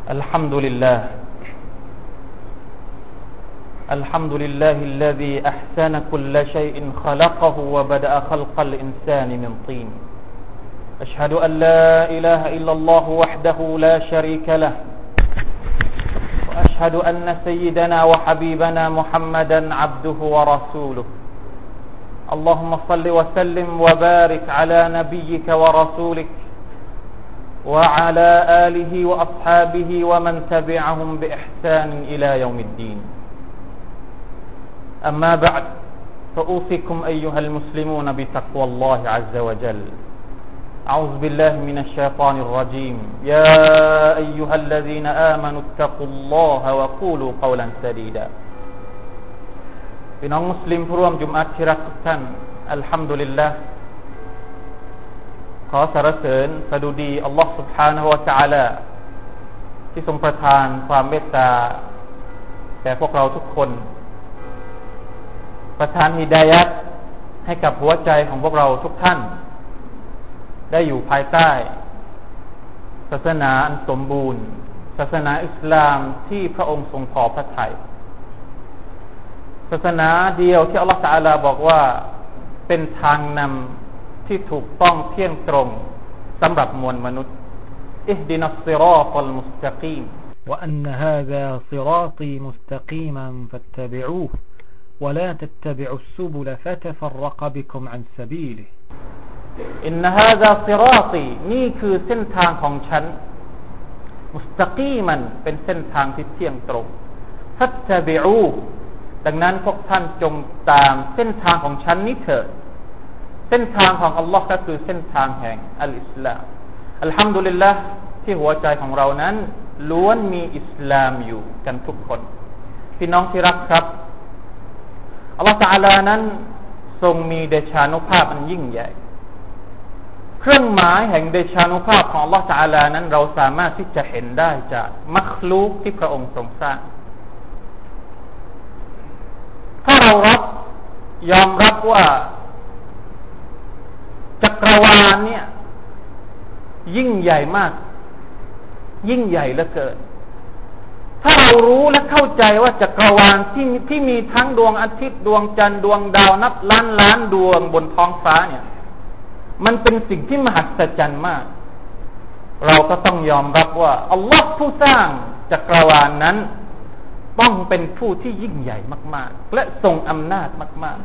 الحمد لله الحمد لله الذي أحسن كل شيء خلقه وبدأ خلق الإنسان من طين أشهد أن لا إله إلا الله وحده لا شريك له وأشهد أن سيدنا وحبيبنا محمدا عبده ورسوله اللهم صل وسلم وبارك على نبيك ورسولك وعلى آله وأصحابه ومن تبعهم بإحسان إلى يوم الدين أما بعد فأوصيكم أيها المسلمون بتقوى الله عز وجل أعوذ بالله من الشيطان الرجيم يا أيها الذين آمنوا اتقوا الله وقولوا قولا سديدا พี่น้องมุสลิมผู้ร่วมจุมอะห์ที่รักทุกท่านอัลฮัมดุลิลลาห์ขอสรรเสริญสดุดีอัลลอฮฺ سبحانه และ تعالى ที่ทรงประทานความเมตตาแก่พวกเราทุกคนประทานฮิดายะห์ให้กับหัวใจของพวกเราทุกท่านได้อยู่ภายใต้ศาสนาอันสมบูรณ์ศาสนาอิสลามที่พระองค์ทรงพอพระทัยศาสนาเดียวที่อัลลอฮฺ تعالى บอกว่าเป็นทางนำที่ถูกต้องเที่ยงตรงสำหรับมวลมนุษย์อิฮดินัสศิรอตัลมุสตะกีม وأن هذا صراطي مستقيما فاتبعوه ولا تتبعوا السبل فتفرق بكم عن سبيله อินนะฮาซาศิรอตีนี่คือเส้นทางของฉันมุสตะกีมันเป็นเส้นทางที่เที่ยงตรงฟัตตะบิอูดังนั้นพวกท่านจงตามเส้นทางของฉันนี้เถิดเส้นทางของอัลลอฮ์ก็คือเส้นทางแห่งอัลอิสลามอัลฮัมดุลิลละห์ที่หัวใจของเรานั้นล้วนมีอิสลามอยู่กันทุกคนพี่น้องที่รักครับอัลลอฮ์ตะอาลานั้นทรงมีเดชานุภาพอันยิ่งใหญ่เครื่องหมายแห่งเดชานุภาพของอัลลอฮ์ตะอาลานั้นเราสามารถที่จะเห็นได้จากมัคลูกที่พระองค์ทรงสร้างถ้าเรายอมรับว่าจักรวาลเนี่ยยิ่งใหญ่มากยิ่งใหญ่เหลือเกินถ้าเรารู้และเข้าใจว่าจักรวาลที่มีทั้งดวงอาทิตย์ดวงจันทร์ดวงดาวนับล้านล้านดวงบนท้องฟ้าเนี่ยมันเป็นสิ่งที่มหัศจรรย์มากเราก็ต้องยอมรับว่าอัลลอฮ์ผู้สร้างจักรวาลนั้นต้องเป็นผู้ที่ยิ่งใหญ่มากๆและทรงอำนาจมาก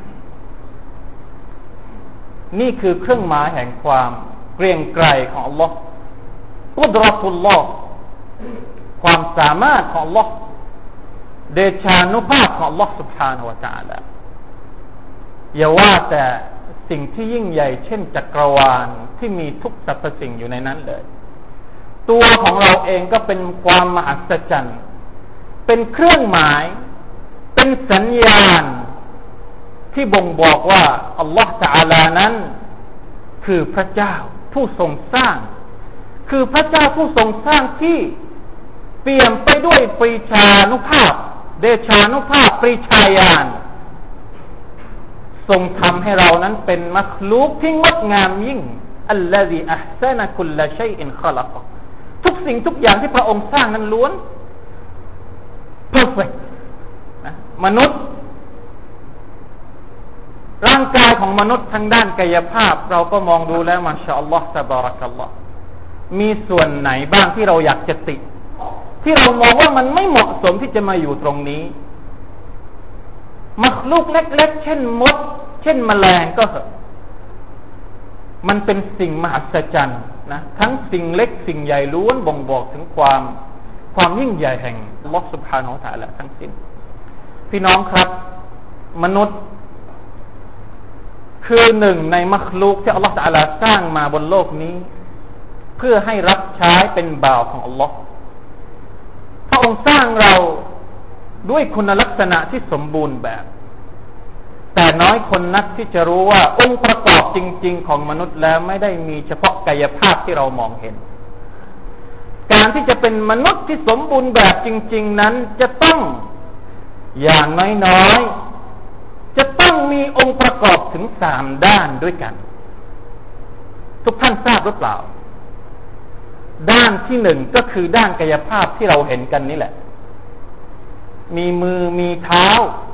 ๆนี่คือเครื่องหมายแห่งความเกรียงไกรของอัลลอฮ์กุดเราะตุลลอฮ์ความสามารถของอัลลอฮ์เดชานุภาพของอัลลอฮ์ سبحانه และ تعالى อย่าว่าแต่สิ่งที่ยิ่งใหญ่เช่นจักรวาลที่มีทุกสรรพสิ่งอยู่ในนั้นเลยตัวของเราเองก็เป็นความมหัศจรรย์เป็นเครื่องหมายเป็นสัญญาณที่บ่งบอกว่าอัลลอฮฺตะอาลานั้นคือพระเจ้าผู้ทรงสร้างคือพระเจ้าผู้ทรงสร้างที่เปี่ยมไปด้วยปรีชานุภาพเดชานุภาพปรีชาญาณทรงทำให้เรานั้นเป็นมัคลูกที่งดงามยิ่งอัลลอฮีอัห์ซะนะกุลชัยอินคอลักทุกสิ่งทุกอย่างที่พระองค์สร้างนั้นล้วนperfect นะมนุษย์ร่างกายของมนุษย์ทางด้านกายภาพเราก็มองดูแล้วมาชาอัลลอฮ์ตะบารักัลลอฮ์มีส่วนไหนบ้างที่เราอยากจะติที่เรามองว่ามันไม่เหมาะสมที่จะมาอยู่ตรงนี้มักลูกเล็กๆเช่นมดเช่นแมลงก็เหอะมันเป็นสิ่งมหัศจรรย์นะทั้งสิ่งเล็กสิ่งใหญ่ล้วนบ่งบอกถึงความยิ่งใหญ่แห่งอัลลอฮฺ سبحانه และ تعالى ทั้งสิ้นพี่น้องครับมนุษย์คือหนึ่งในมัคลูกที่อัลลอฮฺ تعالى สร้างมาบนโลกนี้เพื่อให้รับใช้เป็นบ่าวของอัลลอฮฺพระองค์สร้างเราด้วยคุณลักษณะที่สมบูรณ์แบบแต่น้อยคนนักที่จะรู้ว่าองค์ประกอบจริงๆของมนุษย์แล้วไม่ได้มีเฉพาะกายภาพที่เรามองเห็นการที่จะเป็นมนุษย์ที่สมบูรณ์แบบจริงๆนั้นจะต้องอย่างน้อยๆจะต้องมีองค์ประกอบถึง3ด้านด้วยกันทุกท่านทราบหรือเปล่าด้านที่หนึ่งก็คือด้านกายภาพที่เราเห็นกันนี่แหละมีมือมีเท้า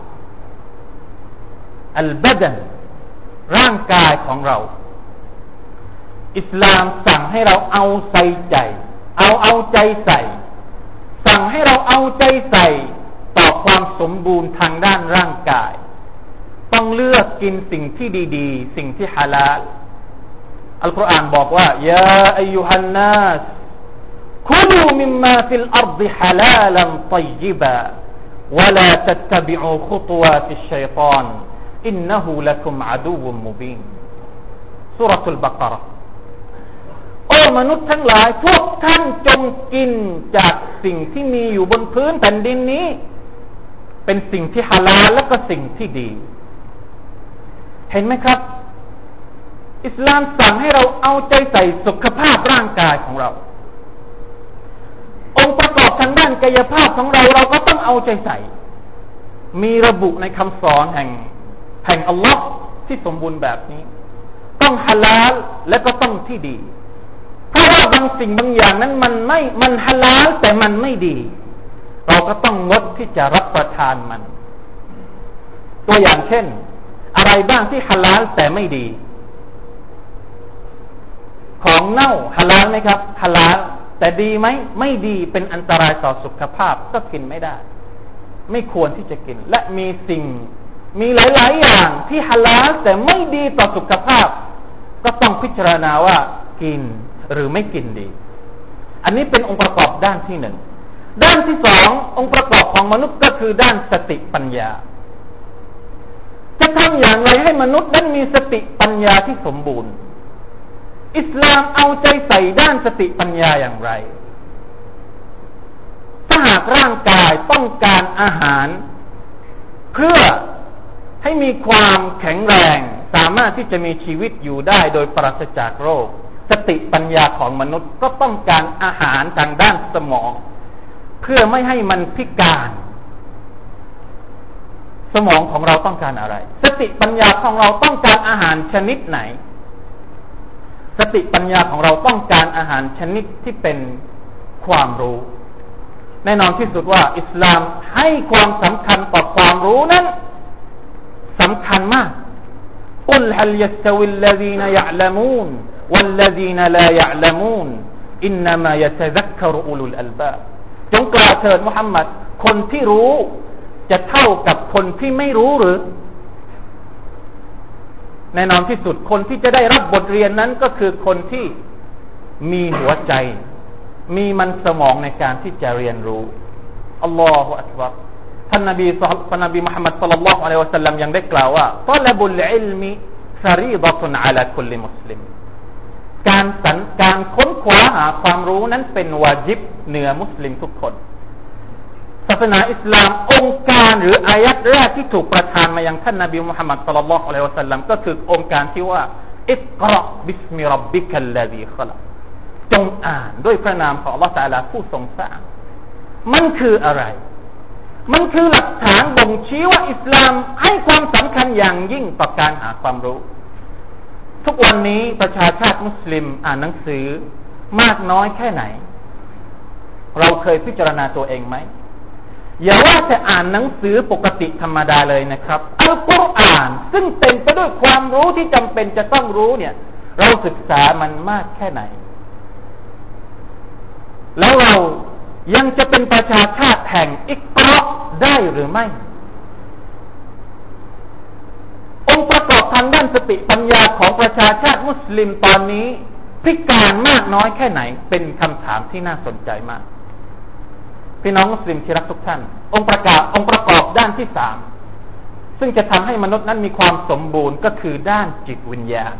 อัลบะดันร่างกายของเราอิสลามสั่งให้เราเอาใจเอาใจใส่สั่งให้เราเอาใจใส่ต่อความสมบูรณ์ทางด้านร่างกายต้องเลือกกินสิ่งที่ดีๆสิ่งที่ฮาลาลอัลกุรอานบอกว่ายาอัยยูฮันนัสคุลูมิมมาฟิลอัรฎิฮาลาลันฏอยญิบะวะลาตัตตะบิอูขุตวาติชชัยฏอนอินนะฮูละกุมอะดูวุมมุบีนซูเราะตุลบะเกาะเราะห์โอ้มนุษย์ทั้งหลายพวกท่านจงกินจากสิ่งที่มีอยู่บนพื้นแผ่นดินนี้เป็นสิ่งที่ฮาลาลและก็สิ่งที่ดีเห็นไหมครับอิสลามสั่งให้เราเอาใจใส่สุขภาพร่างกายของเราองค์ประกอบทางด้านกายภาพของเราก็ต้องเอาใจใส่มีระบุในคำสอนแห่งอัลลอฮ์ที่สมบูรณ์แบบนี้ต้องฮาลาลและก็ต้องที่ดีเพราะว่าบางสิ่งบางอย่างนั้นมันฮาลาลแต่มันไม่ดีเราก็ต้องงดที่จะรับประทานมันตัวอย่างเช่นอะไรบ้างที่ฮาลาลแต่ไม่ดีของเน่าฮาลาลไหมครับฮาลาลแต่ดีไหมไม่ดีเป็นอันตรายต่อสุขภาพก็กินไม่ได้ไม่ควรที่จะกินและมีหลายๆอย่างที่ฮาลาลแต่ไม่ดีต่อสุขภาพก็ต้องพิจารณาว่ากินหรือไม่กินดีอันนี้เป็นองค์ประกอบด้านที่หนึ่งด้านที่สององค์ประกอบของมนุษย์ก็คือด้านสติปัญญาจะทำอย่างไรให้มนุษย์นั้นมีสติปัญญาที่สมบูรณ์อิสลามเอาใจใส่ด้านสติปัญญาอย่างไรถ้าหากร่างกายต้องการอาหารเพื่อให้มีความแข็งแรงสามารถที่จะมีชีวิตอยู่ได้โดยปราศจากโรคสติปัญญาของมนุษย์ก็ต้องการอาหารทางด้านสมองเพื่อไม่ให้มันพิการสมองของเราต้องการอะไรสติปัญญาของเราต้องการอาหารชนิดไหนสติปัญญาของเราต้องการอาหารชนิดที่เป็นความรู้แน่นอนที่สุดว่าอิสลามให้ความสำคัญต่อความรู้นั้นสำคัญมากกุลฮัลยัสตวิลลซีนยะละมูนวัลลซีนลายะละมูนอินนามายะตะซักกะรุอุลุลอัลบาบจงกล่าวเถิดมุฮัมมัดคนที่รู้จะเท่ากับคนที่ไม่รู้หรือแน่นอนที่สุดคนที่จะได้รับบทเรียนนั้นก็คือคนที่มีหัวใจมีมันสมองในการที่จะเรียนรู้อัลลอฮฺอักบัรท่านนบีมุฮัมมัดศ็อลลัลลอฮุอะลัยฮิวะซัลลัมยังได้กล่าวว่าฏอละบุลอิลมิฟะรีฎะตุนอะลาคุลลิมุสลิมการค้นคว้าหาความรู้นั้นเป็นวาญิบเหนือมุสลิมทุกคนศาสนาอิสลามองค์การหรืออายัดแรกที่ถูกประทานมายังท่านนบีมุฮัมมัดศ็อลลัลลอฮุอะลัยฮิวะซัลลัมก็คือองค์การที่ว่าอิกเราะบิสมิร็อบบิกัลลซีคอลักจงอ่านด้วยพระนามของอัลเลาะห์ตะอาลาผู้ทรงสร้างมันคืออะไรมันคือหลักฐานบ่งชี้ว่าอิสลามให้ความสำคัญอย่างยิ่งต่อการหาความรู้ทุกวันนี้ประชาชาติมุสลิมอ่านหนังสือมากน้อยแค่ไหนเราเคยพิจารณาตัวเองไหมอย่าว่าแต่อ่านหนังสือปกติธรรมดาเลยนะครับอัลกุรอานซึ่งเต็มไปด้วยความรู้ที่จำเป็นจะต้องรู้เนี่ยเราศึกษามันมากแค่ไหนแล้วเรายังจะเป็นประชาชาติแห่งอิกเราะห์ได้หรือไม่องค์ประกอบทางด้านสติปัญญาของประชาชาติมุสลิมตอนนี้พิการมากน้อยแค่ไหนเป็นคำถามที่น่าสนใจมากพี่น้องมุสลิมที่รักทุกท่านองค์ประกอบด้านที่สามซึ่งจะทำให้มนุษย์นั้นมีความสมบูรณ์ก็คือด้านจิตวิญญาณ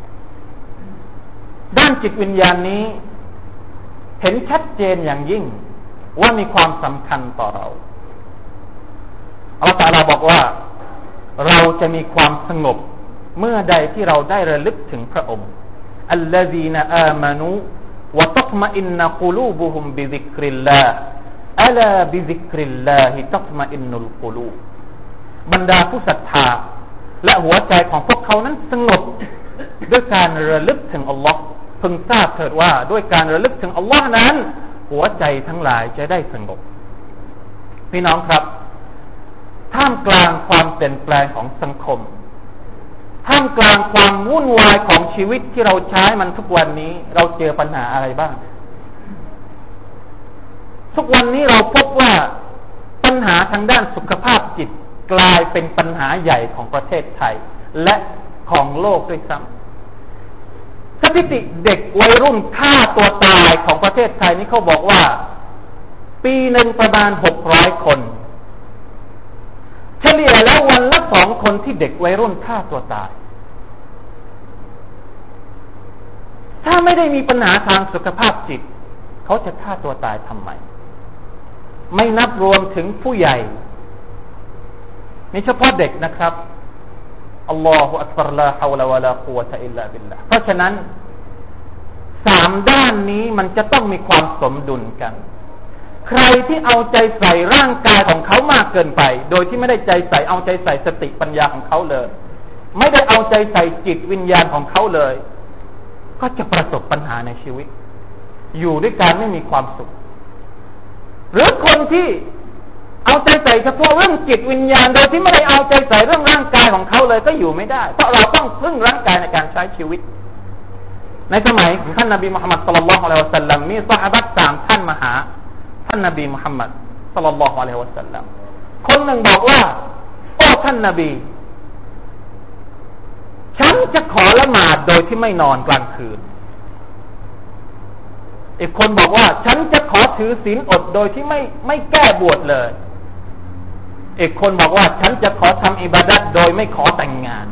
ด้านจิตวิญญาณนี้เห็นชัดเจนอย่างยิ่งว่ามีความสำคัญต่อเราอัลเลาะห์ตะอาลาบอกว่าเราจะมีความสงบเมื่อใดที่เราได้ระลึกถึงพระองค์อัลลซีนอามานูวะตัตมะอินนะกุลูบุฮุมบิซิกริลลาฮ์อะลาบิซิกริลลาฮิตัตมะอินนุลกุลูบบรรดาผู้ศรัทธาและหัวใจของพวกเขานั้นสงบด้วยการระลึกถึงอัลลอฮ์พึงทราบเถิดว่าด้วยการระลึกถึงอัลลอฮ์นั้นหัวใจทั้งหลายจะได้สงบพี่น้องครับท่ามกลางความเปลี่ยนแปลงของสังคมท่ามกลางความวุ่นวายของชีวิตที่เราใช้มันทุกวันนี้เราเจอปัญหาอะไรบ้างทุกวันนี้เราพบว่าปัญหาทางด้านสุขภาพจิตกลายเป็นปัญหาใหญ่ของประเทศไทยและของโลกด้วยซ้ำสถิติเด็กวัยรุ่นฆ่าตัวตายของประเทศไทยนี่เขาบอกว่าปีหนึ่งประมาณ600 คนเฉลี่ยแล้ววันละ2 คนที่เด็กวัยรุ่นฆ่าตัวตายถ้าไม่ได้มีปัญหาทางสุขภาพจิตเขาจะฆ่าตัวตายทำไมไม่นับรวมถึงผู้ใหญ่นี่เฉพาะเด็กนะครับอัลลอฮฺอักบัรลาฮาวลาวะลากุวะตะอิลลาบิลลาห์เพราะฉะนั้น3ด้านนี้มันจะต้องมีความสมดุลกันใครที่เอาใจใส่ร่างกายของเขามากเกินไปโดยที่ไม่ได้ใจใส่เอาใจใส่สติปัญญาของเขาเลยไม่ได้เอาใจใส่จิตวิญญาณของเขาเลยก็จะประสบปัญหาในชีวิตอยู่ด้วยกันไม่มีความสุขหรือคนที่เอาใจใส่เฉพาะเรื่องจิตวิญญาณโดยที่ไม่ได้เอาใจใส่เรื่องร่างกายของเขาเลยก็อยู่ไม่ได้เพราะเราต้องพึ่งร่างกายในการใช้ชีวิตในสมัยของท่านนบีมุฮัมมัดศ็อลลัลลอฮุอะลัยฮิวะซัลลัมมีซอฮาบะห์3ท่านมาหาท่านนบีมุฮัมมัดศ็อลลัลลอฮุอะลัยฮิวะซัลลัมคนหนึ่งบอกว่าโอ้ท่านนบีฉันจะขอละหมาดโดยที่ไม่นอนกลางคืนอีกคนบอกว่าฉันจะขอถือศีลอดโดยที่ไม่แก้บวชเลยอีกคนบอกว่าฉันจะขอทำอิบาดัตโดยไม่ขอแต่งงาน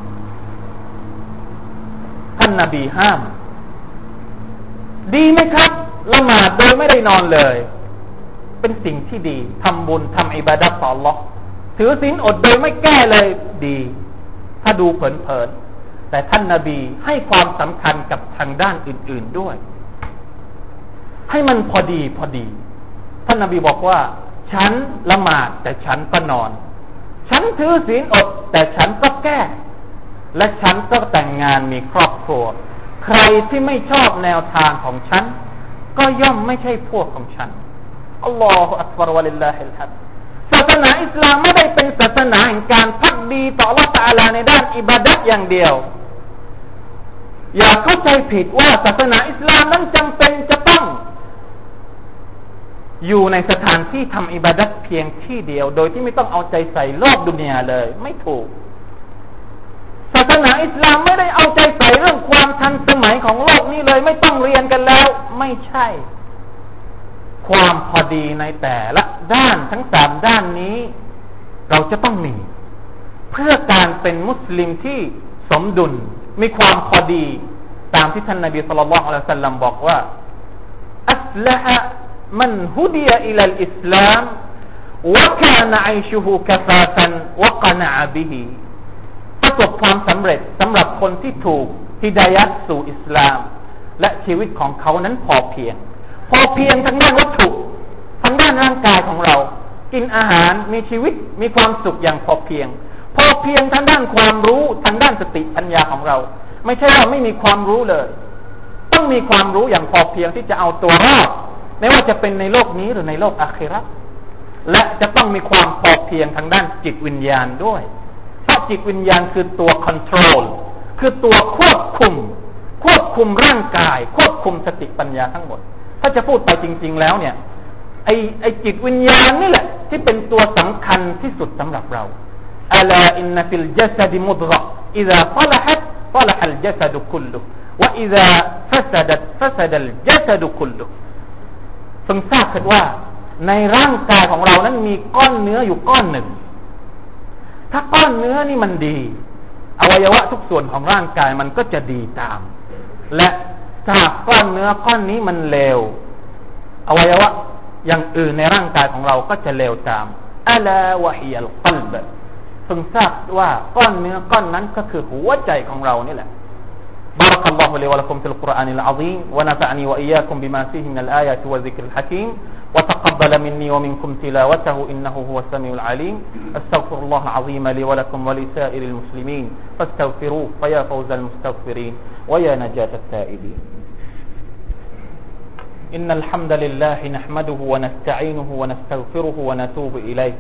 ท่านนบีห้ามดีไหมครับละหมาดโดยไม่ได้นอนเลยเป็นสิ่งที่ดีทำบุญทำอิบาดัตต่ออัลเลาะห์ถือศีลอดโดยไม่แก้เลยดีถ้าดูเผินๆแต่ท่านนบีให้ความสำคัญกับทางด้านอื่นๆด้วยให้มันพอดีท่านนบีบอกว่าฉันละหมาดแต่ฉันก็นอนฉันถือศีลอดแต่ฉันก็แก้และฉันก็แต่งงานมีครอบครัวใครที่ไม่ชอบแนวทางของฉันก็ย่อมไม่ใช่พวกของฉันอัลลอฮฺอักบัรวะลิลลาฮิลฮัมดศาสนาอิสลามไม่ได้เป็นศาสนาแห่งการภักดีต่ออัลเลาะห์ตะอาลาในด้านอิบาดะห์อย่างเดียวอย่าเข้าใจผิดว่าศาสนาอิสลามนั้นจำเป็นจะต้องอยู่ในสถานที่ทำอิบาดัตเพียงที่เดียวโดยที่ไม่ต้องเอาใจใส่รอบดุนยาเลยไม่ถูกศาสนาอิสลามไม่ได้เอาใจใส่เรื่องความทันสมัยของโลกนี้เลยไม่ต้องเรียนกันแล้วไม่ใช่ความพอดีในแต่ละด้านทั้ง3ด้านนี้เราจะต้องมีเพื่อการเป็นมุสลิมที่สมดุลมีความพอดีตามที่ท่านนบีศ็อลลัลลอฮุอะลัยฮิวะซัลลัมบอกว่าอัสละฮะมันฮุดียะอิลัลอิสลามวะกานะอัยชุฮุกะฟาตันวะกะนะอะบิฮิประสบความสำเร็จสำหรับคนที่ถูกฮิดายะห์สู่อิสลามและชีวิตของเขานั้นพอเพียงทางด้านวัตถุทางด้านร่างกายของเรากินอาหารมีชีวิตมีความสุขอย่างพอเพียงทางด้านความรู้ทางด้านสติปัญญาของเราไม่ใช่ว่าไม่มีความรู้เลยต้องมีความรู้อย่างพอเพียงที่จะเอาตัวรอดไม่ว่าจะเป็นในโลกนี้หรือในโลกอาคิเราะห์และจะต้องมีความพอเพียงทางด้านจิตวิญญาณด้วยเพราะจิตวิญญาณคือตัวคอนโทรลคือตัวควบคุมร่างกายควบคุมสติปัญญาทั้งหมดถ้าจะพูดไปจริงๆแล้วเนี่ยไอจิตวิญญาณนี่แหละที่เป็นตัวสำคัญที่สุดสำหรับเราอัลาอินนฟิลจัสดิมุฎฆะอิซาศะละฮัตศะละฮัลจัสดุคุลลุวะอิซาฟะซะดัตฟะซะดัลจัสดุคุลลุพึงทราบเถิดว่าในร่างกายของเรานั้นมีก้อนเนื้ออยู่ก้อนหนึ่งถ้าก้อนเนื้อนี่มันดีอวัยวะทุกส่วนของร่างกายมันก็จะดีตามและถ้าก้อนเนื้อก้อนนี้มันเลวอวัยวะอย่างอื่นในร่างกายของเราก็จะเลวตามอะลาวะฮิยัลกัลบพึงทราบว่าก้อนเนื้อก้อนนั้นก็คือหัวใจของเรานี่แหละبارك الله لي ولكم في القرآن العظيم ونفعني وإياكم بما فيه من الآيات والذكر الحكيم وتقبل مني ومنكم تلاوته إنه هو السميع العليم أستغفر الله العظيم لي ولكم ولسائر المسلمين فاستغفروه فيا فوز المستغفرين ويا نجاة التائبين إن الحمد لله نحمده ونستعينه ونستغفره ونتوب إليه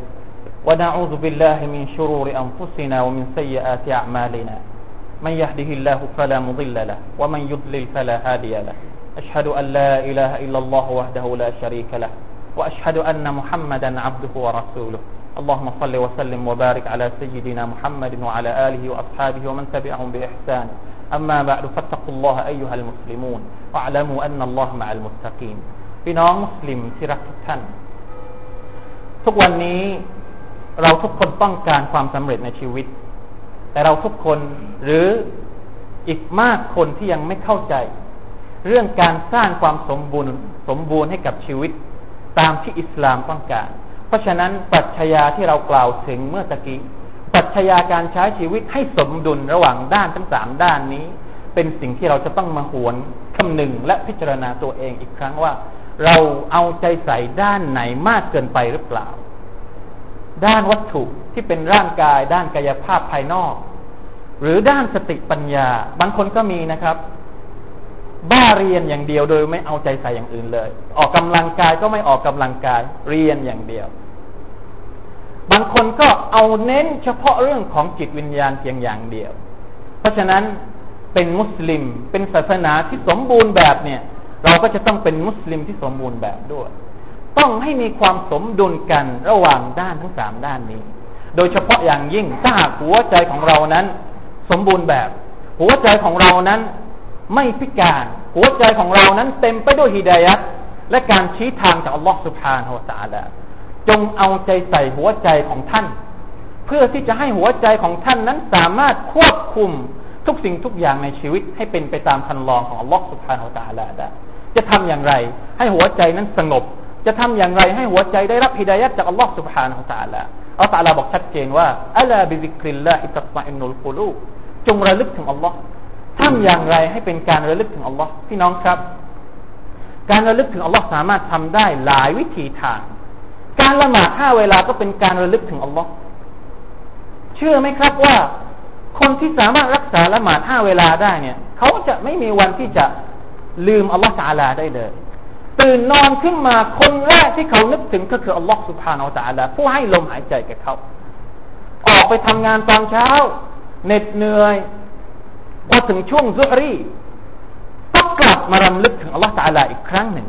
ونعوذ بالله من شرور أنفسنا ومن سيئات أعمالنا من يهده الله فلا مضل له ومن يضلل فلا هادي له أشهد أن لا إله إلا الله وحده لا شريك له وأشهد أن محمدا عبده ورسوله اللهم صل وسلم وبارك على سيدنا محمد وعلى آله وأصحابه ومن تبعهم بإحسان أما بعد فاتقوا الله أيها المسلمون واعلموا أن الله مع المتقين พี่น้องมุสลิมที่รักทุกท่านทุกวันนี้เราทุกคนต้องการความสำเร็จในชีวิตแต่เราทุกคนหรืออีกมากคนที่ยังไม่เข้าใจเรื่องการสร้างความสมบูรณ์ให้กับชีวิตตามที่อิสลามต้องการเพราะฉะนั้นปรัชญาที่เรากล่าวถึงเมื่อตะกี้ปรัชญาการใช้ชีวิตให้สมดุลระหว่างด้านทั้ง3ด้านนี้เป็นสิ่งที่เราจะต้องมาหวนคำนึงและพิจารณาตัวเองอีกครั้งว่าเราเอาใจใส่ด้านไหนมากเกินไปหรือเปล่าด้านวัตถุที่เป็นร่างกายด้านกายภาพภายนอกหรือด้านสติปัญญาบางคนก็มีนะครับบ้าเรียนอย่างเดียวโดยไม่เอาใจใส่อย่างอื่นเลยออกกำลังกายก็ไม่ออกกำลังกายเรียนอย่างเดียวบางคนก็เอาเน้นเฉพาะเรื่องของจิตวิญญาณเพียงอย่างเดียวเพราะฉะนั้นเป็นมุสลิมเป็นศาสนาที่สมบูรณ์แบบเนี่ยเราก็จะต้องเป็นมุสลิมที่สมบูรณ์แบบด้วยต้องให้มีความสมดุลกันระหว่างด้านทั้ง3ด้านนี้โดยเฉพาะอย่างยิ่งถ้าหากหัวใจของเรานั้นสมบูรณ์แบบหัวใจของเรานั้นไม่พิการหัวใจของเรานั้นเต็มไปด้วยฮิดายะห์และการชี้ทางจากอัลลอฮฺซุบฮานะฮูวะตะอาลาจงเอาใจใส่หัวใจของท่านเพื่อที่จะให้หัวใจของท่านนั้นสามารถควบคุมทุกสิ่งทุกอย่างในชีวิตให้เป็นไปตามคันลองของอัลลอฮฺซุบฮานะฮูวะตะอาลาได้จะทำอย่างไรให้หัวใจนั้นสงบจะทำอย่างไรให้หัวใจได้รับฮิดายะห์จากอัลลอฮฺซุบฮานะฮูวะตะอาลาอัลลอฮฺตะอาลาบอกชัดเจนว่าอะลาบิซิกริลลาฮิตัตมะอินนุลกุลูบจงระลึกถึงอัลลอฮฺทำอย่างไรให้เป็นการระลึกถึงอัลลอฮ์พี่น้องครับการระลึกถึงอัลลอฮ์สามารถทำได้หลายวิธีทางการละหมาด5เวลาก็เป็นการระลึกถึงอัลลอฮ์เชื่อไหมครับว่าคนที่สามารถรักษาละหมาด5เวลาได้เนี่ยเขาจะไม่มีวันที่จะลืมอัลลอฮ์ตะอาลาได้เลยตื่นนอนขึ้นมาคนแรกที่เขานึกถึงก็คืออัลลอฮ์ซุบฮานะฮูวะตะอาลาผู้ให้ลมหายใจแก่เขาออกไปทำงานตอนเช้าเหน็ดเหนื่อยพอถึงช่วงซุฮรีต้องกลับมารำลึกถึงอัลลอฮฺตะอาลาอีกครั้งหนึ่ง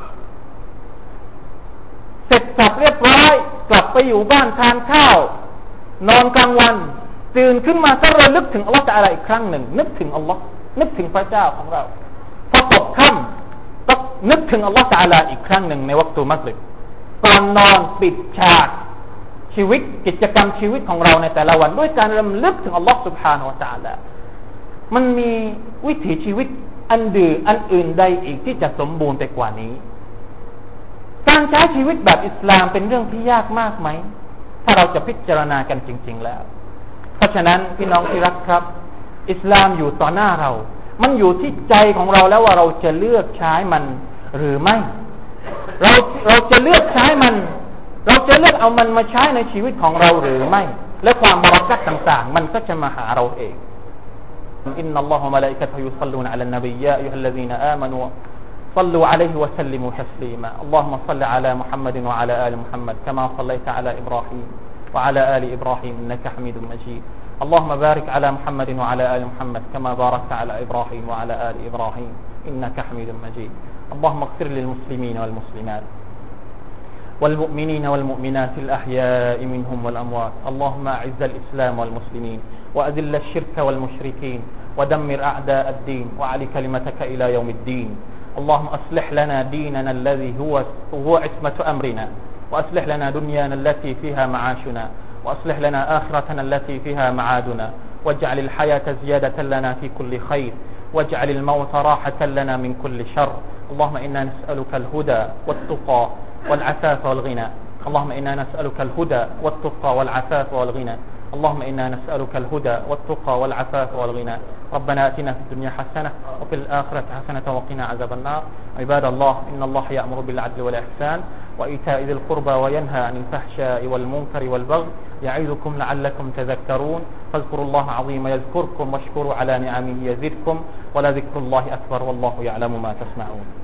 เสร็จสับเรียบร้อยกลับไปอยู่บ้านทานข้าวนอนกลางวันตื่นขึ้นมาก็ระลึกถึงอัลลอฮฺตะอาลาอีกครั้งหนึ่งนึกถึงอัลลอฮฺนึกถึงพระเจ้าของเราพอตกค่ำต้องนึกถึงอัลลอฮฺตะอาลาอีกครั้งหนึ่งในวักตุมักริบก่อนนอนปิดฉากชีวิตกิจกรรมชีวิตของเราในแต่ละวันด้วยการรำลึกถึงอัลลอฮฺซุบฮานะฮูวะตะอาลามันมีวิถีชีวิตอันอื่นใดอีกที่จะสมบูรณ์ไปกว่านี้การใช้ชีวิตแบบอิสลามเป็นเรื่องที่ยากมากไหมถ้าเราจะพิจารณากันจริงๆแล้วเพราะฉะนั้นพี่น้องที่รักครับอิสลามอยู่ต่อหน้าเรามันอยู่ที่ใจของเราแล้วว่าเราจะเลือกใช้มันหรือไม่เราจะเลือกใช้มันเราจะเลือกเอามันมาใช้ในชีวิตของเราหรือไม่และความบารักัตต่างๆมันก็จะมาหาเราเองإن الله وملائكته يصلون على النبي يا أيها الذين آمنوا صلوا عليه وسلموا تسليما اللهم صل على محمد وعلى آل محمد كما صليت على إبراهيم وعلى آل إبراهيم إنك حميد مجيد اللهم بارك على محمد وعلى آل محمد كما باركت على إبراهيم وعلى آل إبراهيم إنك حميد مجيد اللهم اغفر للمسلمين والمسلمات والمؤمنين والمؤمنات الأحياء منهم والأموات اللهم أعز الإسلام والمسلمين وأذل الشرك والمشركين ودمر أعداء الدين وعلي كلمتك إلى يوم الدين اللهم أصلح لنا ديننا الذي هو عصمة أمرنا وأصلح لنا دنيانا التي فيها معاشنا وأصلح لنا آخرتنا التي فيها معادنا واجعل الحياة زيادة لنا في كل خير واجعل الموت راحة لنا من كل شر اللهم إنا نسألك الهدى والتقى والعفاف والغنى اللهم إنا نسألك الهدى والتقى والعفاف والغنى اللهم إنا نسألك الهدى والتقى والعفاف والغنى ربنا آتنا في الدنيا حسنة وفي الآخرة حسنة وقنا عذاب النار عباد الله إن الله يأمر بالعدل والإحسان وإيتاء ذي القربى وينهى عن الفحشاء والمنكر والبغي يعظكم لعلكم تذكرون فاذكروا الله عظيم يذكركم واشكروا على نعمه يزدكم ولذكر الله أكبر والله يعلم ما تصنعون